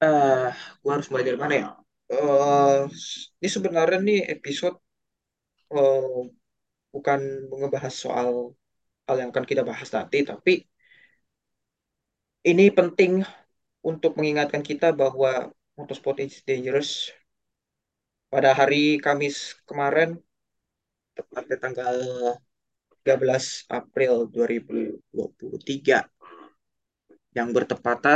eh gua harus mulai dari mana ya? Eh, ini sebenarnya nih episode eh, bukan ngebahas soal hal yang akan kita bahas nanti, tapi ini penting untuk mengingatkan kita bahwa motorsport is dangerous. Pada hari Kamis kemarin, tepatnya tanggal 13 April 2023, yang bertepatan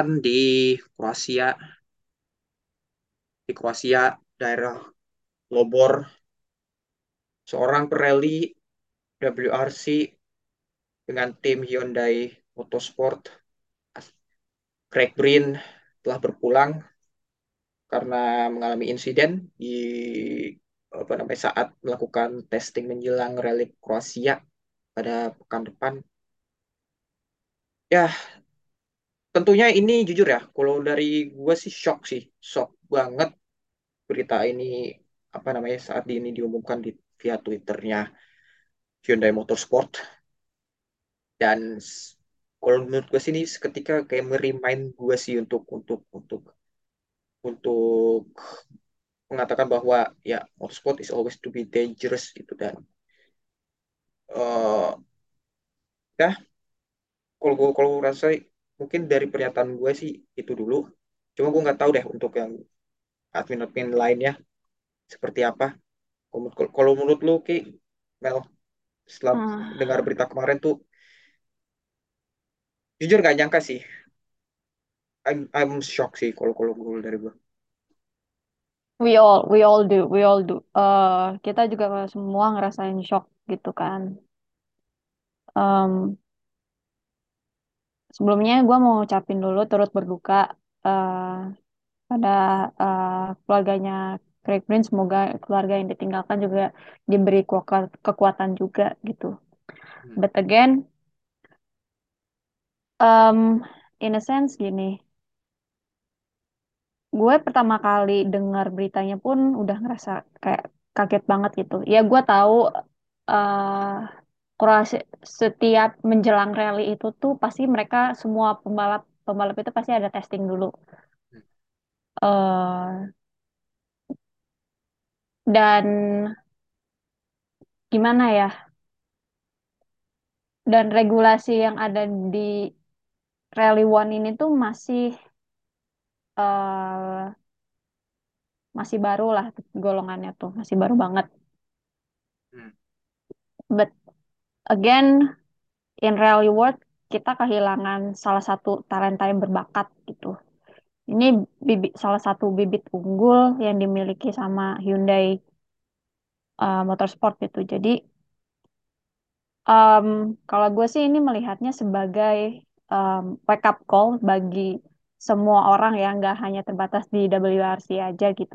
di Kroasia, daerah Lobor, seorang pereli WRC dengan tim Hyundai Motorsport, Craig Breen, telah berpulang karena mengalami insiden di saat melakukan testing menjelang rally Kroasia pada pekan depan. Ya, tentunya ini jujur ya, kalau dari gue sih shock banget berita ini saat ini diumumkan via Twitternya Hyundai Motorsport. Dan kalau menurut gue sih ini seketika kayak merimain gue sih untuk mengatakan bahwa ya motorsport is always to be dangerous gitu. Dan eh ya kalau gue rasa mungkin dari pernyataan gue sih itu dulu. Cuma gue nggak tahu deh untuk yang admin-admin lainnya seperti apa. Kalau menurut lu Ki, Mel, setelah Ah, dengar berita kemarin tuh jujur gak nyangka sih. I'm shocked sih kalau kalau gue dari gue. we all do. Kita juga semua ngerasain shock gitu kan. Em, Sebelumnya gue mau ucapin dulu turut berduka eh, pada eh, keluarganya Craig Prince. Semoga keluarga yang ditinggalkan juga diberi kekuatan juga gitu. Hmm. But again, in a sense gini, gue pertama kali dengar beritanya pun udah ngerasa kayak kaget banget gitu. Ya gue tahu eh Kroasia setiap menjelang rally itu tuh pasti mereka semua pembalap pembalap itu pasti ada testing dulu. eh dan gimana ya? Dan regulasi yang ada di Rally One ini tuh eh masih baru lah golongannya tuh masih baru banget. Hmm. But again, in Rally World kita kehilangan salah satu talenta yang berbakat gitu. Ini salah satu bibit unggul yang dimiliki sama Hyundai Motorsport gitu. Jadi em, kalau gue sih ini melihatnya sebagai wake up call bagi semua orang yang nggak hanya terbatas di WRC aja gitu.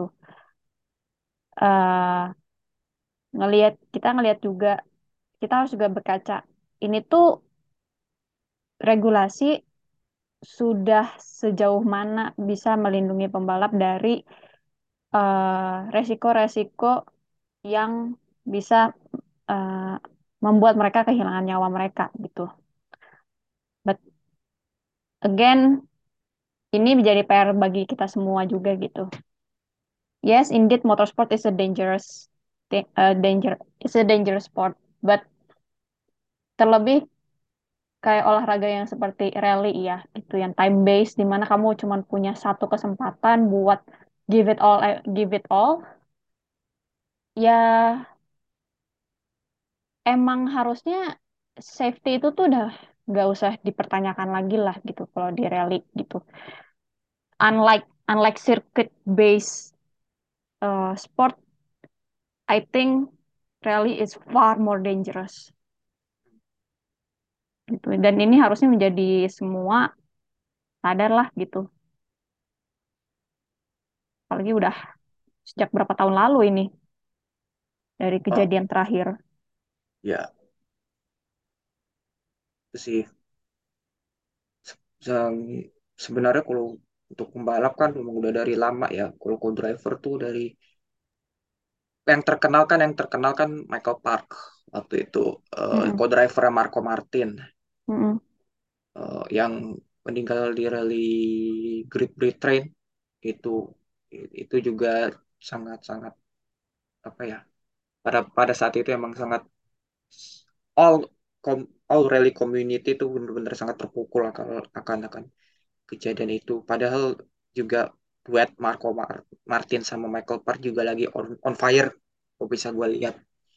eh kita ngelihat juga kita harus juga berkaca. Ini tuh regulasi sudah sejauh mana bisa melindungi pembalap dari resiko-resiko yang bisa eh, membuat mereka kehilangan nyawa mereka gitu. But again, ini menjadi PR bagi kita semua juga gitu. Yes, indeed, motorsport is a dangerous sport. But terlebih kayak olahraga yang seperti rally ya, gitu yang time based di mana kamu cuma punya satu kesempatan buat give it all. Ya emang harusnya safety itu tuh udah nggak usah dipertanyakan lagi lah gitu kalau di rally gitu. Unlike circuit based sport, I think rally is far more dangerous gitu. Dan ini harusnya menjadi semua sadar lah gitu. Apalagi udah sejak berapa tahun lalu ini dari Oh, kejadian terakhir. ya, itu sih. Yang sebenarnya kalau untuk pembalap kan memang udah dari lama ya. Kalau co-driver tuh dari yang terkenal kan Michael Park waktu itu, Mm-mm. co-driver Marco Martin, Mm-mm. yang meninggal di rally Great Britain itu itu juga sangat-sangat apa ya, pada pada saat itu emang sangat all all rally community itu benar-benar sangat terpukul akan kejadian itu. Padahal juga duet Martin sama Michael Park juga lagi on fire, kok bisa gue lihat.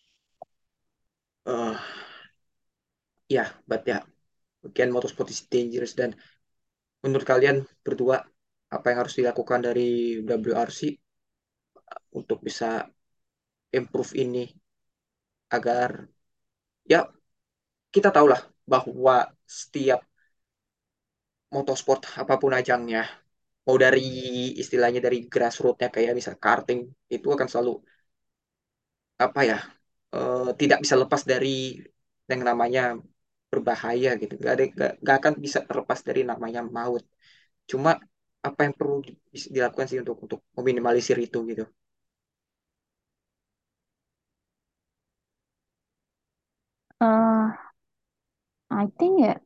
eh ya, but ya, again motorsport is dangerous. Dan menurut kalian berdua, apa yang harus dilakukan dari WRC untuk bisa improve ini, agar ya, kita tahulah bahwa setiap motorsport apapun ajangnya, mau dari istilahnya dari grassrootsnya kayak misal karting, itu akan selalu apa ya, tidak bisa lepas dari yang namanya berbahaya gitu. Gak akan bisa terlepas dari namanya maut. Cuma apa yang perlu dilakukan sih untuk meminimalisir itu gitu. eh I think ya,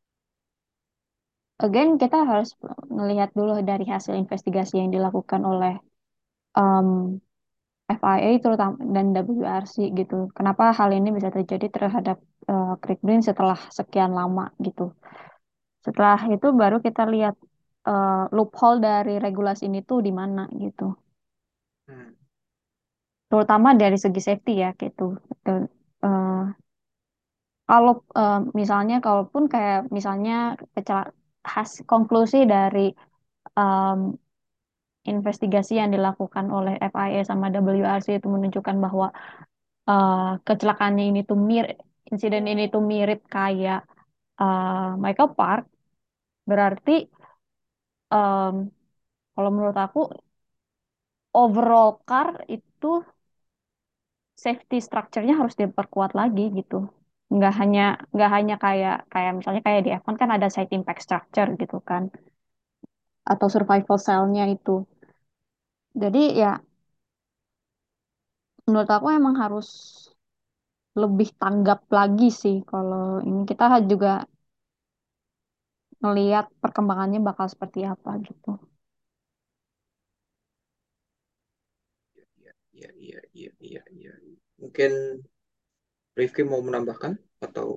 again kita harus melihat dulu dari hasil investigasi yang dilakukan oleh um, FIA terutama dan WRC gitu. Kenapa hal ini bisa terjadi terhadap Craig Breen setelah sekian lama gitu. Setelah itu baru kita lihat loophole dari regulasi ini tuh di mana gitu. Hmm. Terutama dari segi safety ya gitu. Dan, eh, kalau misalnya kalaupun kayak misalnya konklusi dari em, investigasi yang dilakukan oleh FIA sama WRC itu menunjukkan bahwa eh, kecelakaannya ini tuh mirip, insiden ini tuh mirip kayak Michael Park, berarti em, kalau menurut aku overall car itu safety structure-nya harus diperkuat lagi gitu. Nggak hanya nggak hanya kayak kayak misalnya kayak di F1 kan ada side impact structure gitu kan, atau survival cell-nya itu. Jadi ya menurut aku emang harus lebih tanggap lagi sih kalau ini kita juga ngelihat perkembangannya bakal seperti apa gitu. Iya, iya, iya, iya, iya, iya. Mungkin Rifki mau menambahkan atau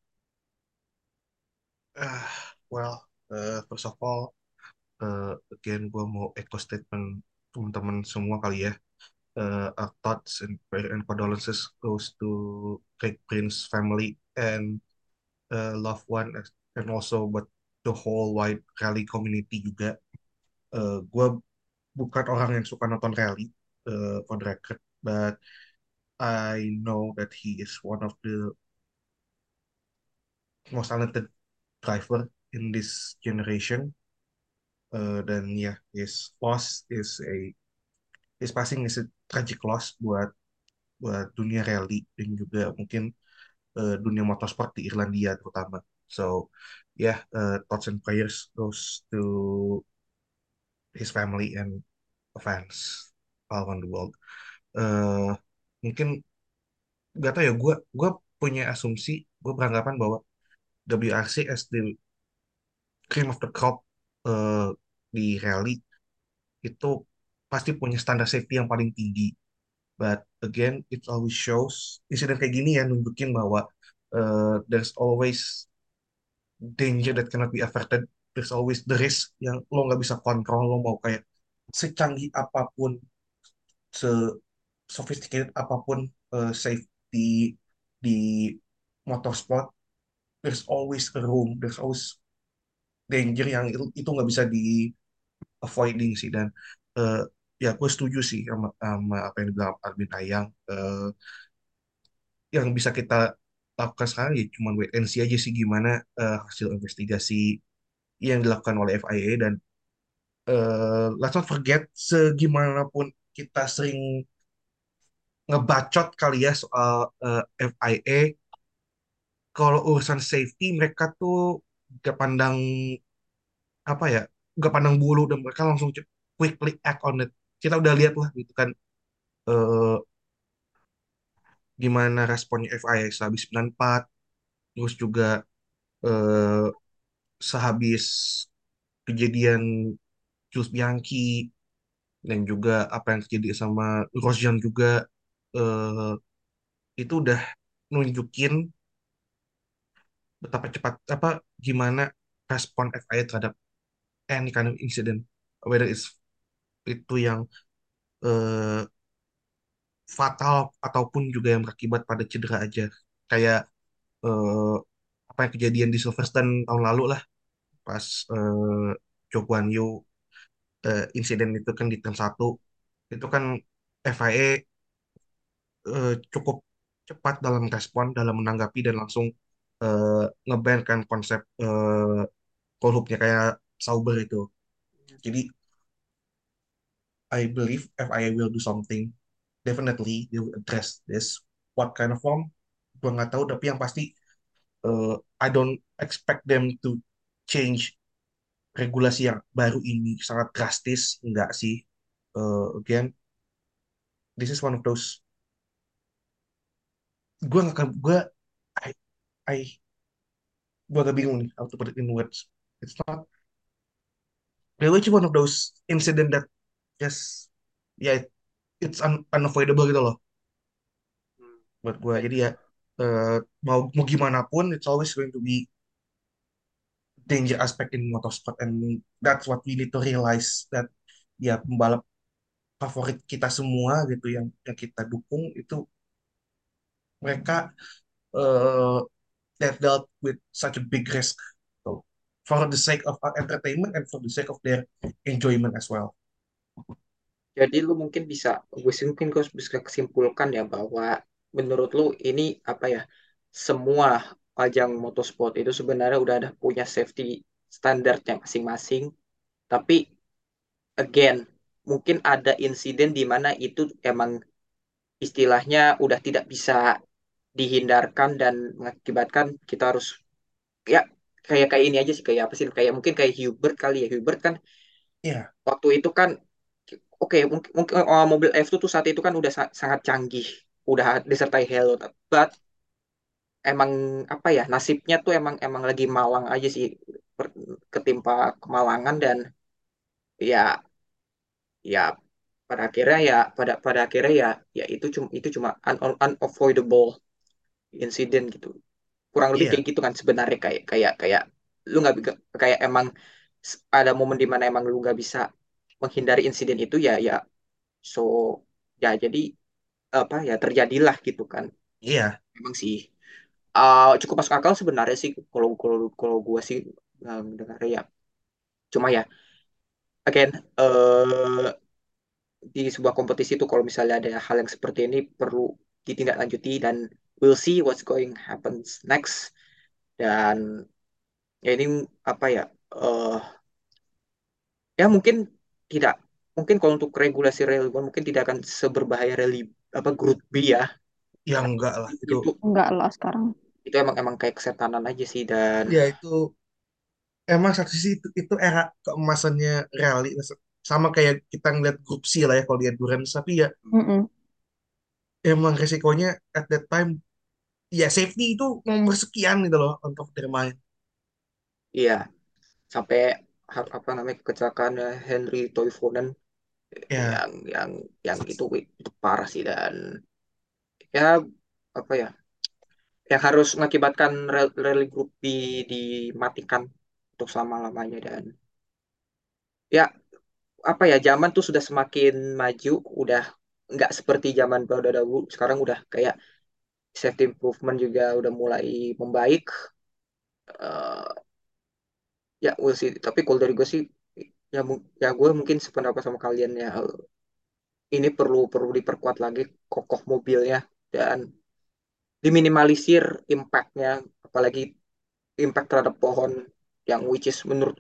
Ah, well, first of all, again, gue mau echo statement teman-teman semua kali ya. Our thoughts and prayer and condolences goes to Craig Prince family and loved one, and also but the whole wide rally community juga. Gue bukan orang yang suka nonton rally, for the record, but I know that he is one of the most talented driver in this generation. Dan ya, his passing is a tragic loss buat buat dunia rally dan juga mungkin dunia motorsport di Irlandia terutama. So yeah, thoughts and prayers goes to his family and fans all around the world. eh Mungkin nggak tahu ya, gue punya asumsi, gue beranggapan bahwa WRC as the cream of the crop eh, di rally itu pasti punya standar safety yang paling tinggi. But again, it always shows insiden kayak gini ya nunjukin bahwa there's always danger that cannot be averted. There's always the risk yang lo nggak bisa kontrol. Lo mau kayak secanggih apapun, se sophisticated apapun safety di motorsport, there's always a room, there's always danger yang itu nggak bisa di avoiding sih. Dan eh, ya gue setuju sih sama apa yang dibilang Albin Ayang. Yang bisa kita lakukan sekarang ya cuma wait and see aja sih gimana hasil investigasi yang dilakukan oleh FIA. Dan let's not forget, segimanapun kita sering ngebacot kali ya soal FIA, kalau urusan safety mereka tuh gak pandang apa ya, gak pandang bulu, dan mereka langsung quickly act on it. Kita udah lihat lah gitu kan, eh, gimana responnya FIA sehabis 94, terus juga eh, sehabis kejadian Jules Bianchi. dan juga apa yang terjadi sama Grosjean juga eh, itu udah nunjukin betapa cepat apa gimana respon FIA terhadap any kind of incident, whether itu yang eh, fatal ataupun juga yang berakibat pada cedera aja, kayak eh, apa yang kejadian di Silverstone tahun lalu lah, pas Zhou Guan Yu insiden itu kan di turn 1 itu kan FIA cukup cepat dalam respon dalam menanggapi dan langsung ngeban kan konsep call hoop-nya kayak Sauber itu. Jadi I believe FIA will do something. Definitely they will address this. What kind of form? Gue nggak tahu. Tapi yang pasti I don't expect them to change regulasi yang baru ini sangat drastis. Enggak sih. Again, this is one of those. Gue nggak akan. I, I, gue agak bingung nih how to put it in words. It's not really one of those incident that just ya it's unavoidable gitu loh Hmm. buat gue. Ya, Jadi ya eh, mau mau gimana pun it's always going to be danger aspect in motorsport, and that's what we need to realize that ya pembalap favorit kita semua gitu yang kita dukung itu mereka uh, that dealt with such a big risk, so for the sake of our entertainment and for the sake of their enjoyment as well. jadi lu mungkin bisa, gue sih mungkin gue bisa kesimpulkan ya bahwa menurut lu ini apa ya, semua ajang motorsport itu sebenarnya udah ada punya safety standarnya masing-masing. Tapi again, mungkin ada insiden di mana itu emang istilahnya udah tidak bisa dihindarkan dan mengakibatkan kita harus ya kayak kayak ini aja sih, kayak apa sih, kayak mungkin kayak Hubert kali ya. Hubert kan Ya, waktu itu kan oke, mungkin, mungkin mobil F2 tuh saat itu kan udah sangat canggih, udah disertai halo, but emang apa ya, nasibnya tuh emang emang lagi malang aja sih, per- ketimpa kemalangan. Dan ya ya pada pada akhirnya ya itu cuma unavoidable incident gitu, kurang lebih iya, kayak gitu kan sebenarnya, kayak kayak kayak lu nggak kayak emang ada momen di mana emang lu nggak bisa menghindari insiden itu, ya so ya jadi apa ya terjadilah gitu kan. iya, Emang sih cukup masuk akal sebenarnya sih, kalau kalau kalau gue sih dengarnya ya. Cuma ya again, di sebuah kompetisi itu kalau misalnya ada hal yang seperti ini perlu ditindaklanjuti, dan we'll see what's going happens next. Dan ya ini apa ya, eh ya mungkin tidak, mungkin kalau untuk regulasi rally one mungkin tidak akan seberbahaya rally apa Group B ya. ya Karena enggak lah itu. Enggak lah sekarang. itu emang emang kayak kesetanan aja sih. Dan Ya itu emang satu sisi itu era keemasannya rally, sama kayak kita ngeliat grup C lah ya kalau di endurance, tapi ya Mm-mm. emang resikonya at that time ya safety itu nomor sekian gitu loh untuk bermain. iya, sampai apa namanya kecelakaan Henry Toivonen Ya, yang yang itu parah sih. Dan ya apa ya, yang harus mengakibatkan rally group dimatikan untuk selama-lamanya. Dan ya apa ya, zaman tuh sudah semakin maju, udah nggak seperti zaman pada dahulu. Sekarang udah kayak safety improvement juga udah mulai membaik. Eh, ya we'll see. Tapi kalau dari gue sih ya ya gue mungkin sependapat sama kalian ya. Ini perlu perlu diperkuat lagi kokoh mobilnya, dan diminimalisir impactnya, apalagi impact terhadap pohon, yang which is menurut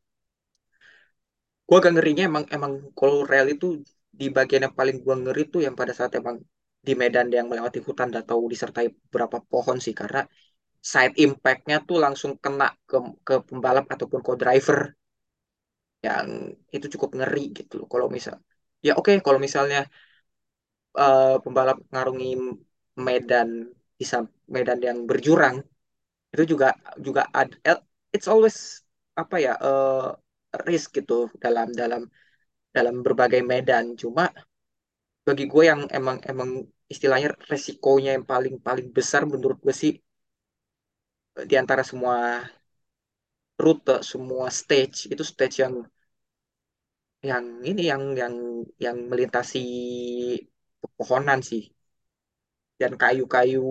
gua agak ngerinya emang emang kalau rel itu di bagian yang paling gua ngeri tuh yang pada saat emang di medan yang melewati hutan atau disertai beberapa pohon sih, karena side impactnya tuh langsung kena ke pembalap ataupun co-driver, yang itu cukup ngeri gitu loh. Kalau misal ya oke, kalau misalnya pembalap ngarungi medan di medan yang berjurang, itu juga juga ada, it's always apa ya, risk gitu dalam dalam dalam berbagai medan. Cuma bagi gue yang emang emang istilahnya resikonya yang paling paling besar menurut gue sih di antara semua rute, semua stage itu stage yang ini yang melintasi pepohonan sih dan kayu-kayu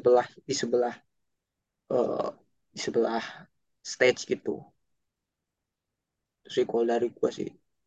eh, di sebelah stage gitu. Itu sih kalau dari gue sih.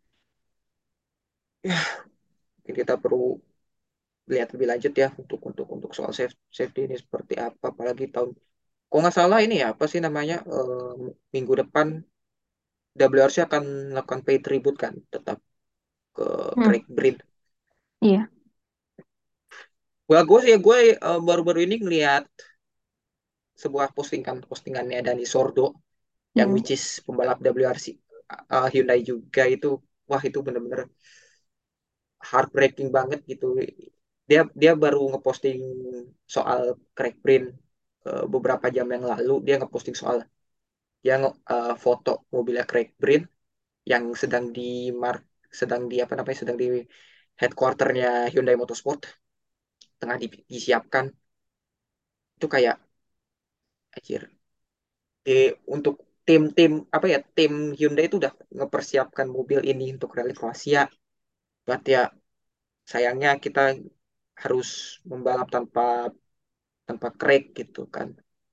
Ya, mungkin kita perlu lihat lebih lanjut ya untuk soal safety ini seperti apa apalagi tahun kok nggak salah ini ya apa sih namanya minggu depan WRC akan melakukan pay tribute kan tetap ke Hmm, Craig Breen. iya. Gua gue sih gue baru-baru ini ngeliat sebuah postingannya Dani Sordo yang Hmm. which is pembalap WRC Hyundai juga itu wah itu bener-bener heartbreaking banget gitu. Dia baru ngeposting soal Craig Breen beberapa jam yang lalu dia ngeposting soal foto mobilnya Craig Breen yang sedang di apa namanya sedang di headquarternya Hyundai Motorsport tengah disiapkan itu kayak anjir untuk tim-tim apa ya tim Hyundai itu udah ngepersiapkan mobil ini untuk rally Kroasia buat ya sayangnya kita harus membalap tanpa tanpa Craig gitu kan.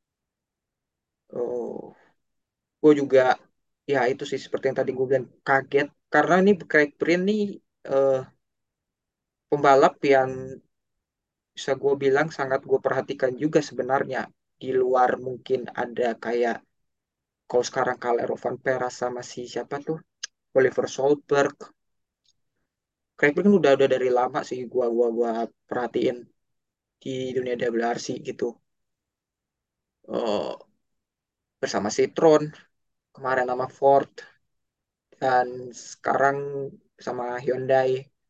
Oh, gue juga ya itu sih seperti yang tadi gue bilang kaget karena ini Craig Breen nih eh, pembalap yang bisa gue bilang sangat gue perhatikan juga sebenarnya di luar mungkin ada kayak kalau sekarang kalau Rovan Peras sama si siapa tuh Oliver Solberg. Craig Breen kan udah dari lama sih gua perhatiin di dunia WRC gitu. Eh, bersama Citroen kemarin sama Ford dan sekarang sama Hyundai.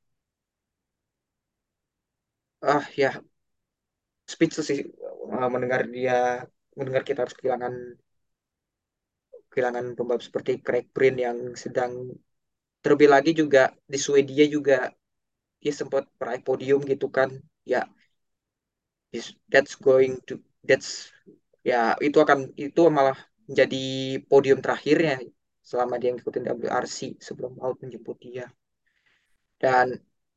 Ah ya speechless sih mendengar kita harus kehilangan kehilangan pembalap seperti Craig Breen yang sedang terlebih lagi juga di Swedia juga dia sempat meraih podium gitu kan. Ya, that's going to that's ya itu malah menjadi podium terakhirnya selama dia ngikutin WRC sebelum maut menjemput dia. Dan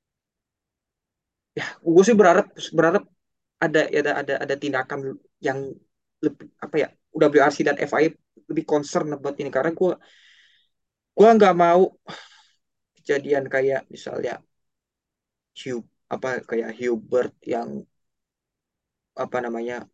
ya gue sih berharap berharap ada tindakan yang lebih apa ya WRC dan FIA lebih concern buat ini karena gue nggak mau kejadian kayak misalnya kayak Hubert yang apa namanya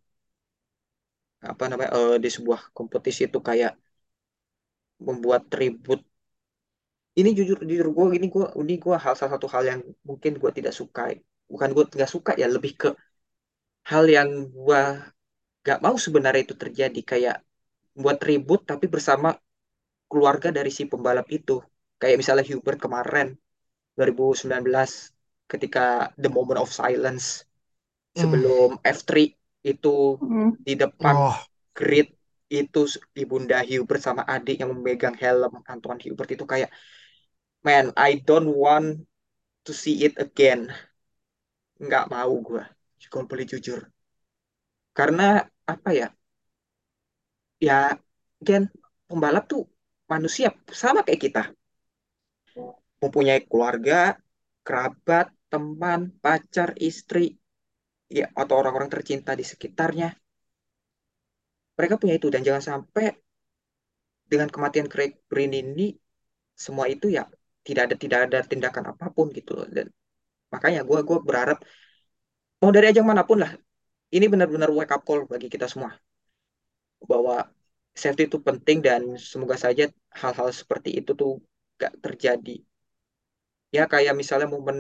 di sebuah kompetisi itu kayak membuat ribut ini jujur jujur gue hal salah satu hal yang mungkin gue tidak suka bukan gue tidak suka ya lebih ke hal yang gue gak mau sebenarnya itu terjadi kayak buat ribut tapi bersama keluarga dari si pembalap itu kayak misalnya Hubert kemarin 2019 ketika the moment of silence Hmm. sebelum F3 itu Hmm. di depan Oh, grid itu ibunda Hubert sama adik yang memegang helm Antoine Hubert itu kayak man I don't want to see it again nggak mau gue kalau boleh jujur karena apa ya ya gen pembalap tuh manusia sama kayak kita mempunyai keluarga kerabat teman pacar istri ya atau orang-orang tercinta di sekitarnya mereka punya itu dan jangan sampai dengan kematian Craig Breen ini semua itu ya tidak ada tindakan apapun gitu loh dan makanya gue berharap mau dari ajang manapun lah ini benar-benar wake up call bagi kita semua bahwa safety itu penting dan semoga saja hal-hal seperti itu tuh gak terjadi. Ya kayak misalnya momen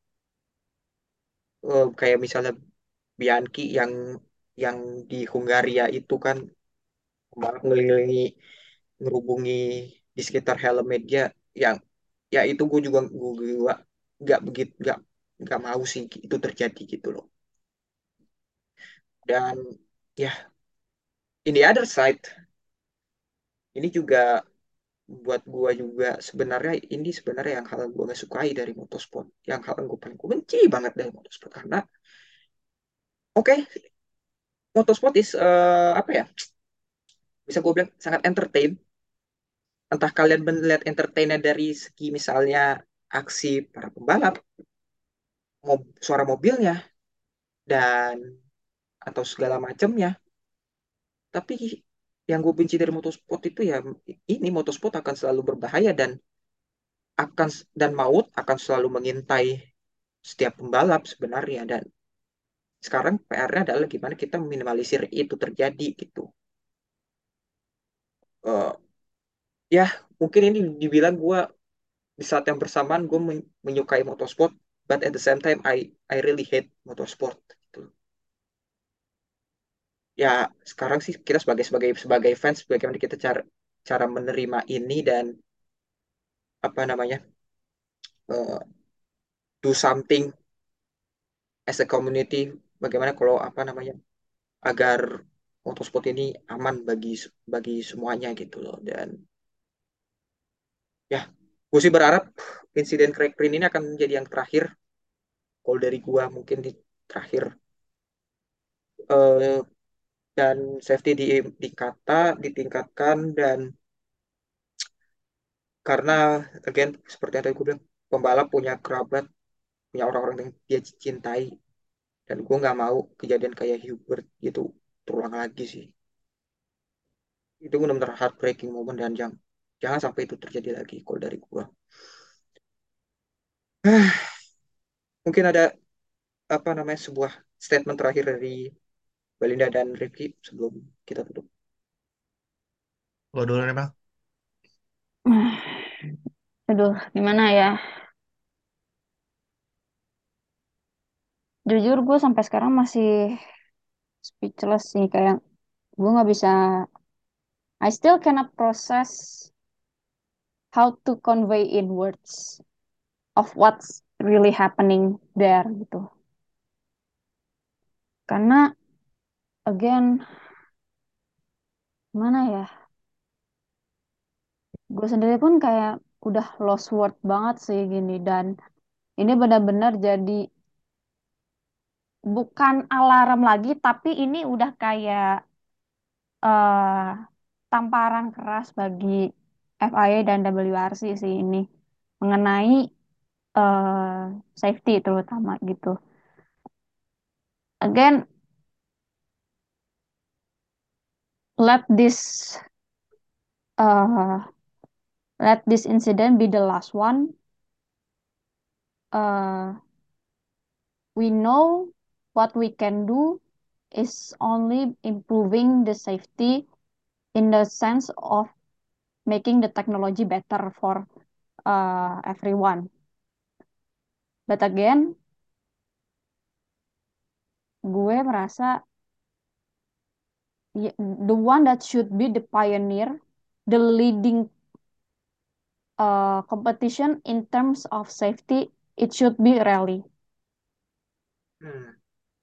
kayak misalnya Bianchi yang di Hungaria itu kan malah ngelilingi ngerubungi di sekitar helm media yang ya itu gue nggak begitu nggak mau sih itu terjadi gitu loh. Dan ya in the other side ini juga buat gua juga sebenarnya ini sebenarnya yang hal yang gua gak sukai dari motorsport, yang hal yang gua paling gua benci banget dari motorsport karena oke, motorsport is apa ya, bisa gua bilang sangat entertain. Entah kalian melihat entertainnya dari segi misalnya aksi para pembalap, suara mobilnya dan atau segala macamnya. Tapi yang gue benci dari motorsport itu ya ini motorsport akan selalu berbahaya akan dan maut akan selalu mengintai setiap pembalap sebenarnya. Dan sekarang PR-nya adalah gimana kita minimalisir itu terjadi gitu. Eh, ya mungkin ini dibilang gue di saat yang bersamaan gue menyukai motorsport, but at the same time I really hate motorsport gitu. Ya sekarang sih kita sebagai sebagai sebagai fans bagaimana kita cara cara menerima ini dan apa namanya, eh, do something as a community, bagaimana kalau apa namanya agar motorsport ini aman bagi semuanya gitu loh. Dan ya gue sih berharap insiden Craig Green ini akan menjadi yang terakhir. Kalau dari gua mungkin di terakhir, eh, dan safety ditingkatkan. Dan karena again seperti yang tadi gue bilang, pembalap punya kerabat, punya orang-orang yang dia cintai, dan gue nggak mau kejadian kayak Hubert gitu terulang lagi sih. Itu benar-benar heartbreaking moment dan jangan jangan sampai itu terjadi lagi kalau dari gue. Mungkin ada apa namanya sebuah statement terakhir dari Belinda dan Rifki sebelum kita tutup. Lo dulu nih bang. Aduh, gimana ya? Jujur gue sampai sekarang masih speechless sih, kayak gue nggak bisa. I still cannot process how to convey in words of what's really happening there gitu. Karena again, gimana ya? Gue sendiri pun kayak udah lost word banget sih gini, dan ini benar-benar jadi bukan alarm lagi, tapi ini udah kayak eh tamparan keras bagi FIA dan WRC sih ini mengenai safety terutama gitu. Again, let uh, this incident be the last one. Uh, we know what we can do is only improving the safety in the sense of making the technology better for everyone. But again, gue merasa the one that should be the pioneer, the leading competition in terms of safety, it should be rally. Hmm.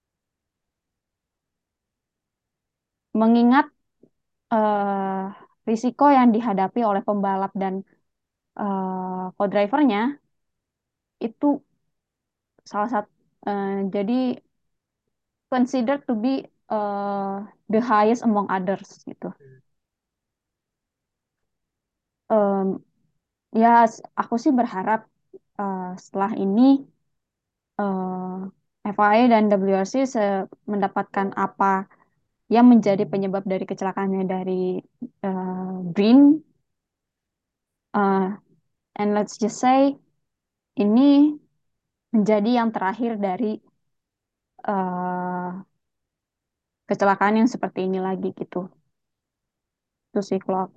Mengingat eh, risiko yang dihadapi oleh pembalap dan co-drivernya itu salah satu, jadi considered to be the highest among others gitu. Em, ya aku sih berharap setelah ini FIA dan WRC mendapatkan apa yang menjadi penyebab dari kecelakaannya dari Green, uh, and let's just say ini menjadi yang terakhir dari uh, kecelakaan yang seperti ini lagi gitu. Itu sih kalau aku.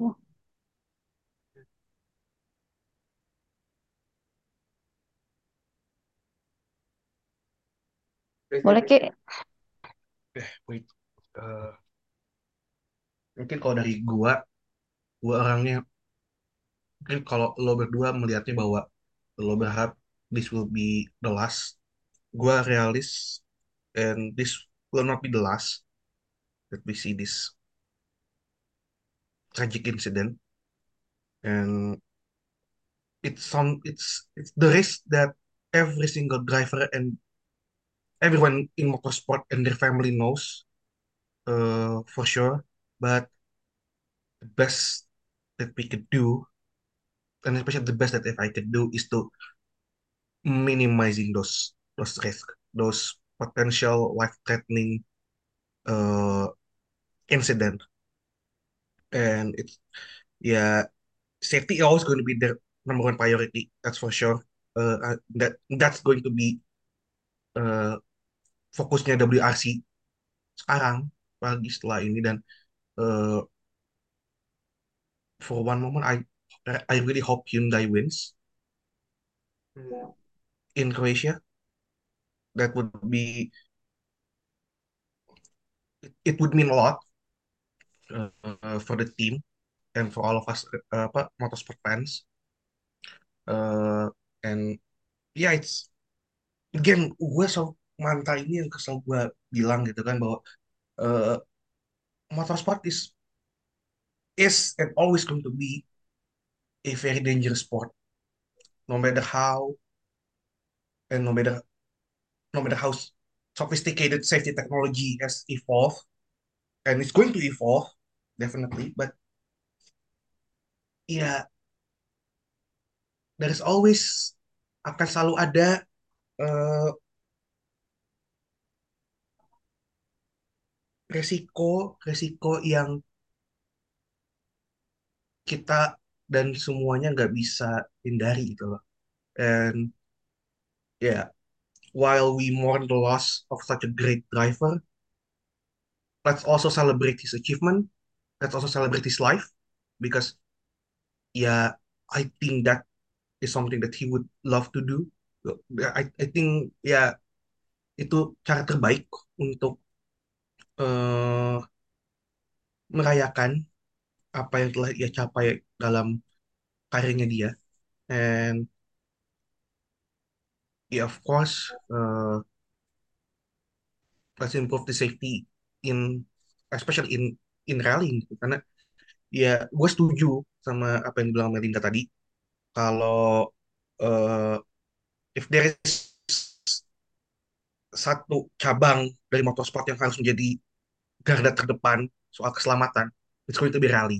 Boleh Rifki. Ki? Wait. Eh, Mungkin kalau dari gua orangnya mungkin kalau lo berdua melihatnya bahwa lo berharap this will be the last. Gua realis and this will not be the last that we see this tragic incident. and it's the risk that every single driver and everyone in motorsport and their family knows, for sure. But the best that we could do, and especially the best that if I could do, is to minimizing those risks, those potential life-threatening uh, incident. And it's, yeah, safety is always going to be the number one priority. That's for sure. That's going to be uh, fokusnya WRC sekarang, apalagi setelah ini. Dan uh, for one moment, I really hope Hyundai wins Hmm. in Croatia. That would be, it would mean a lot for the team and for all of us, apa, motorsport fans. Uh, and yeah, it's again, gue so Manta ini yang kesel gue bilang gitu kan, bahwa uh, motorsport is and always going to be a very dangerous sport, no matter how, and no matter how sophisticated safety technology has evolved, and it's going to evolve definitely. But ya, there's always, akan selalu ada uh, resiko resiko yang kita dan semuanya nggak bisa hindari gitu loh. And yeah, while we mourn the loss of such a great driver, let's also celebrate his achievement. Let's also celebrate his life, because yeah, I think that is something that he would love to do. I think ya, itu cara terbaik untuk eh, merayakan apa yang telah ia capai dalam karirnya dia. And yeah, of course, let's improve the safety in, especially in rallying gitu. Karena ya, gue setuju sama apa yang dibilang Melinda tadi, kalau eh, if there is satu cabang dari motorsport yang harus menjadi garda terdepan soal keselamatan, it's going to be rally.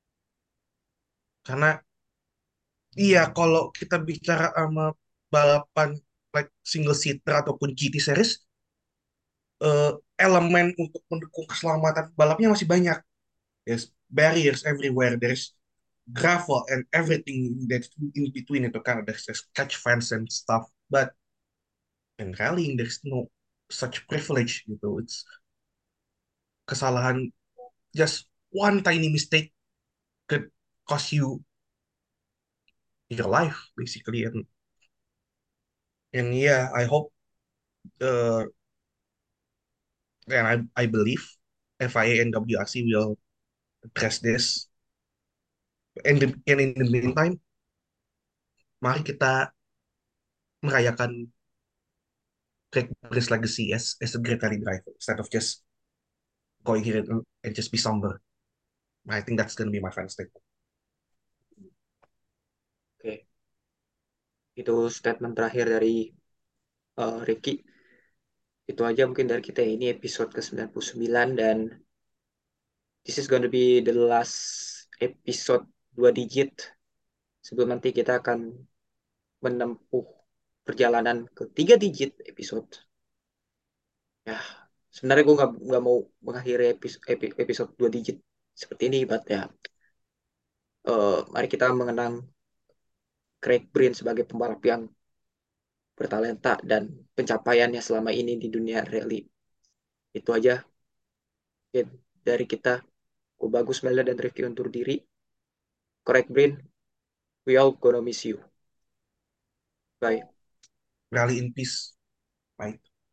Karena iya, kalau kita bicara sama balapan like single seater ataupun GT series, eh, elemen untuk mendukung keselamatan balapnya masih banyak. There's barriers everywhere. There's gravel and everything that's in between itu kan. There's catch fence and stuff. But in rallying, there's no such privilege gitu. It's kesalahan, just one tiny mistake could cost you your life basically. And yeah, I hope, uh, and I believe FIA and WRC will address this. And in the meantime, mari kita merayakan Craig Brace's legacy as a great rally driver instead of just going here and just be somber. I think that's gonna be my final statement. Oke, itu statement terakhir dari Rifki. Itu aja mungkin dari kita ya. Ini episode ke-99 dan this is gonna be the last episode 2 digit sebelum nanti kita akan menempuh perjalanan ke 3 digit episode. Ya, sebenarnya gue nggak mau mengakhiri episode 2 digit seperti ini, but ya, mari kita mengenang Craig Breen sebagai pembalap yang bertalenta dan pencapaiannya selama ini di dunia rally. Itu aja ya, dari kita. Gue Bagus Melda dan Rifki untur diri. Craig Breen, we all gonna miss you. Bye. Rally in peace, right?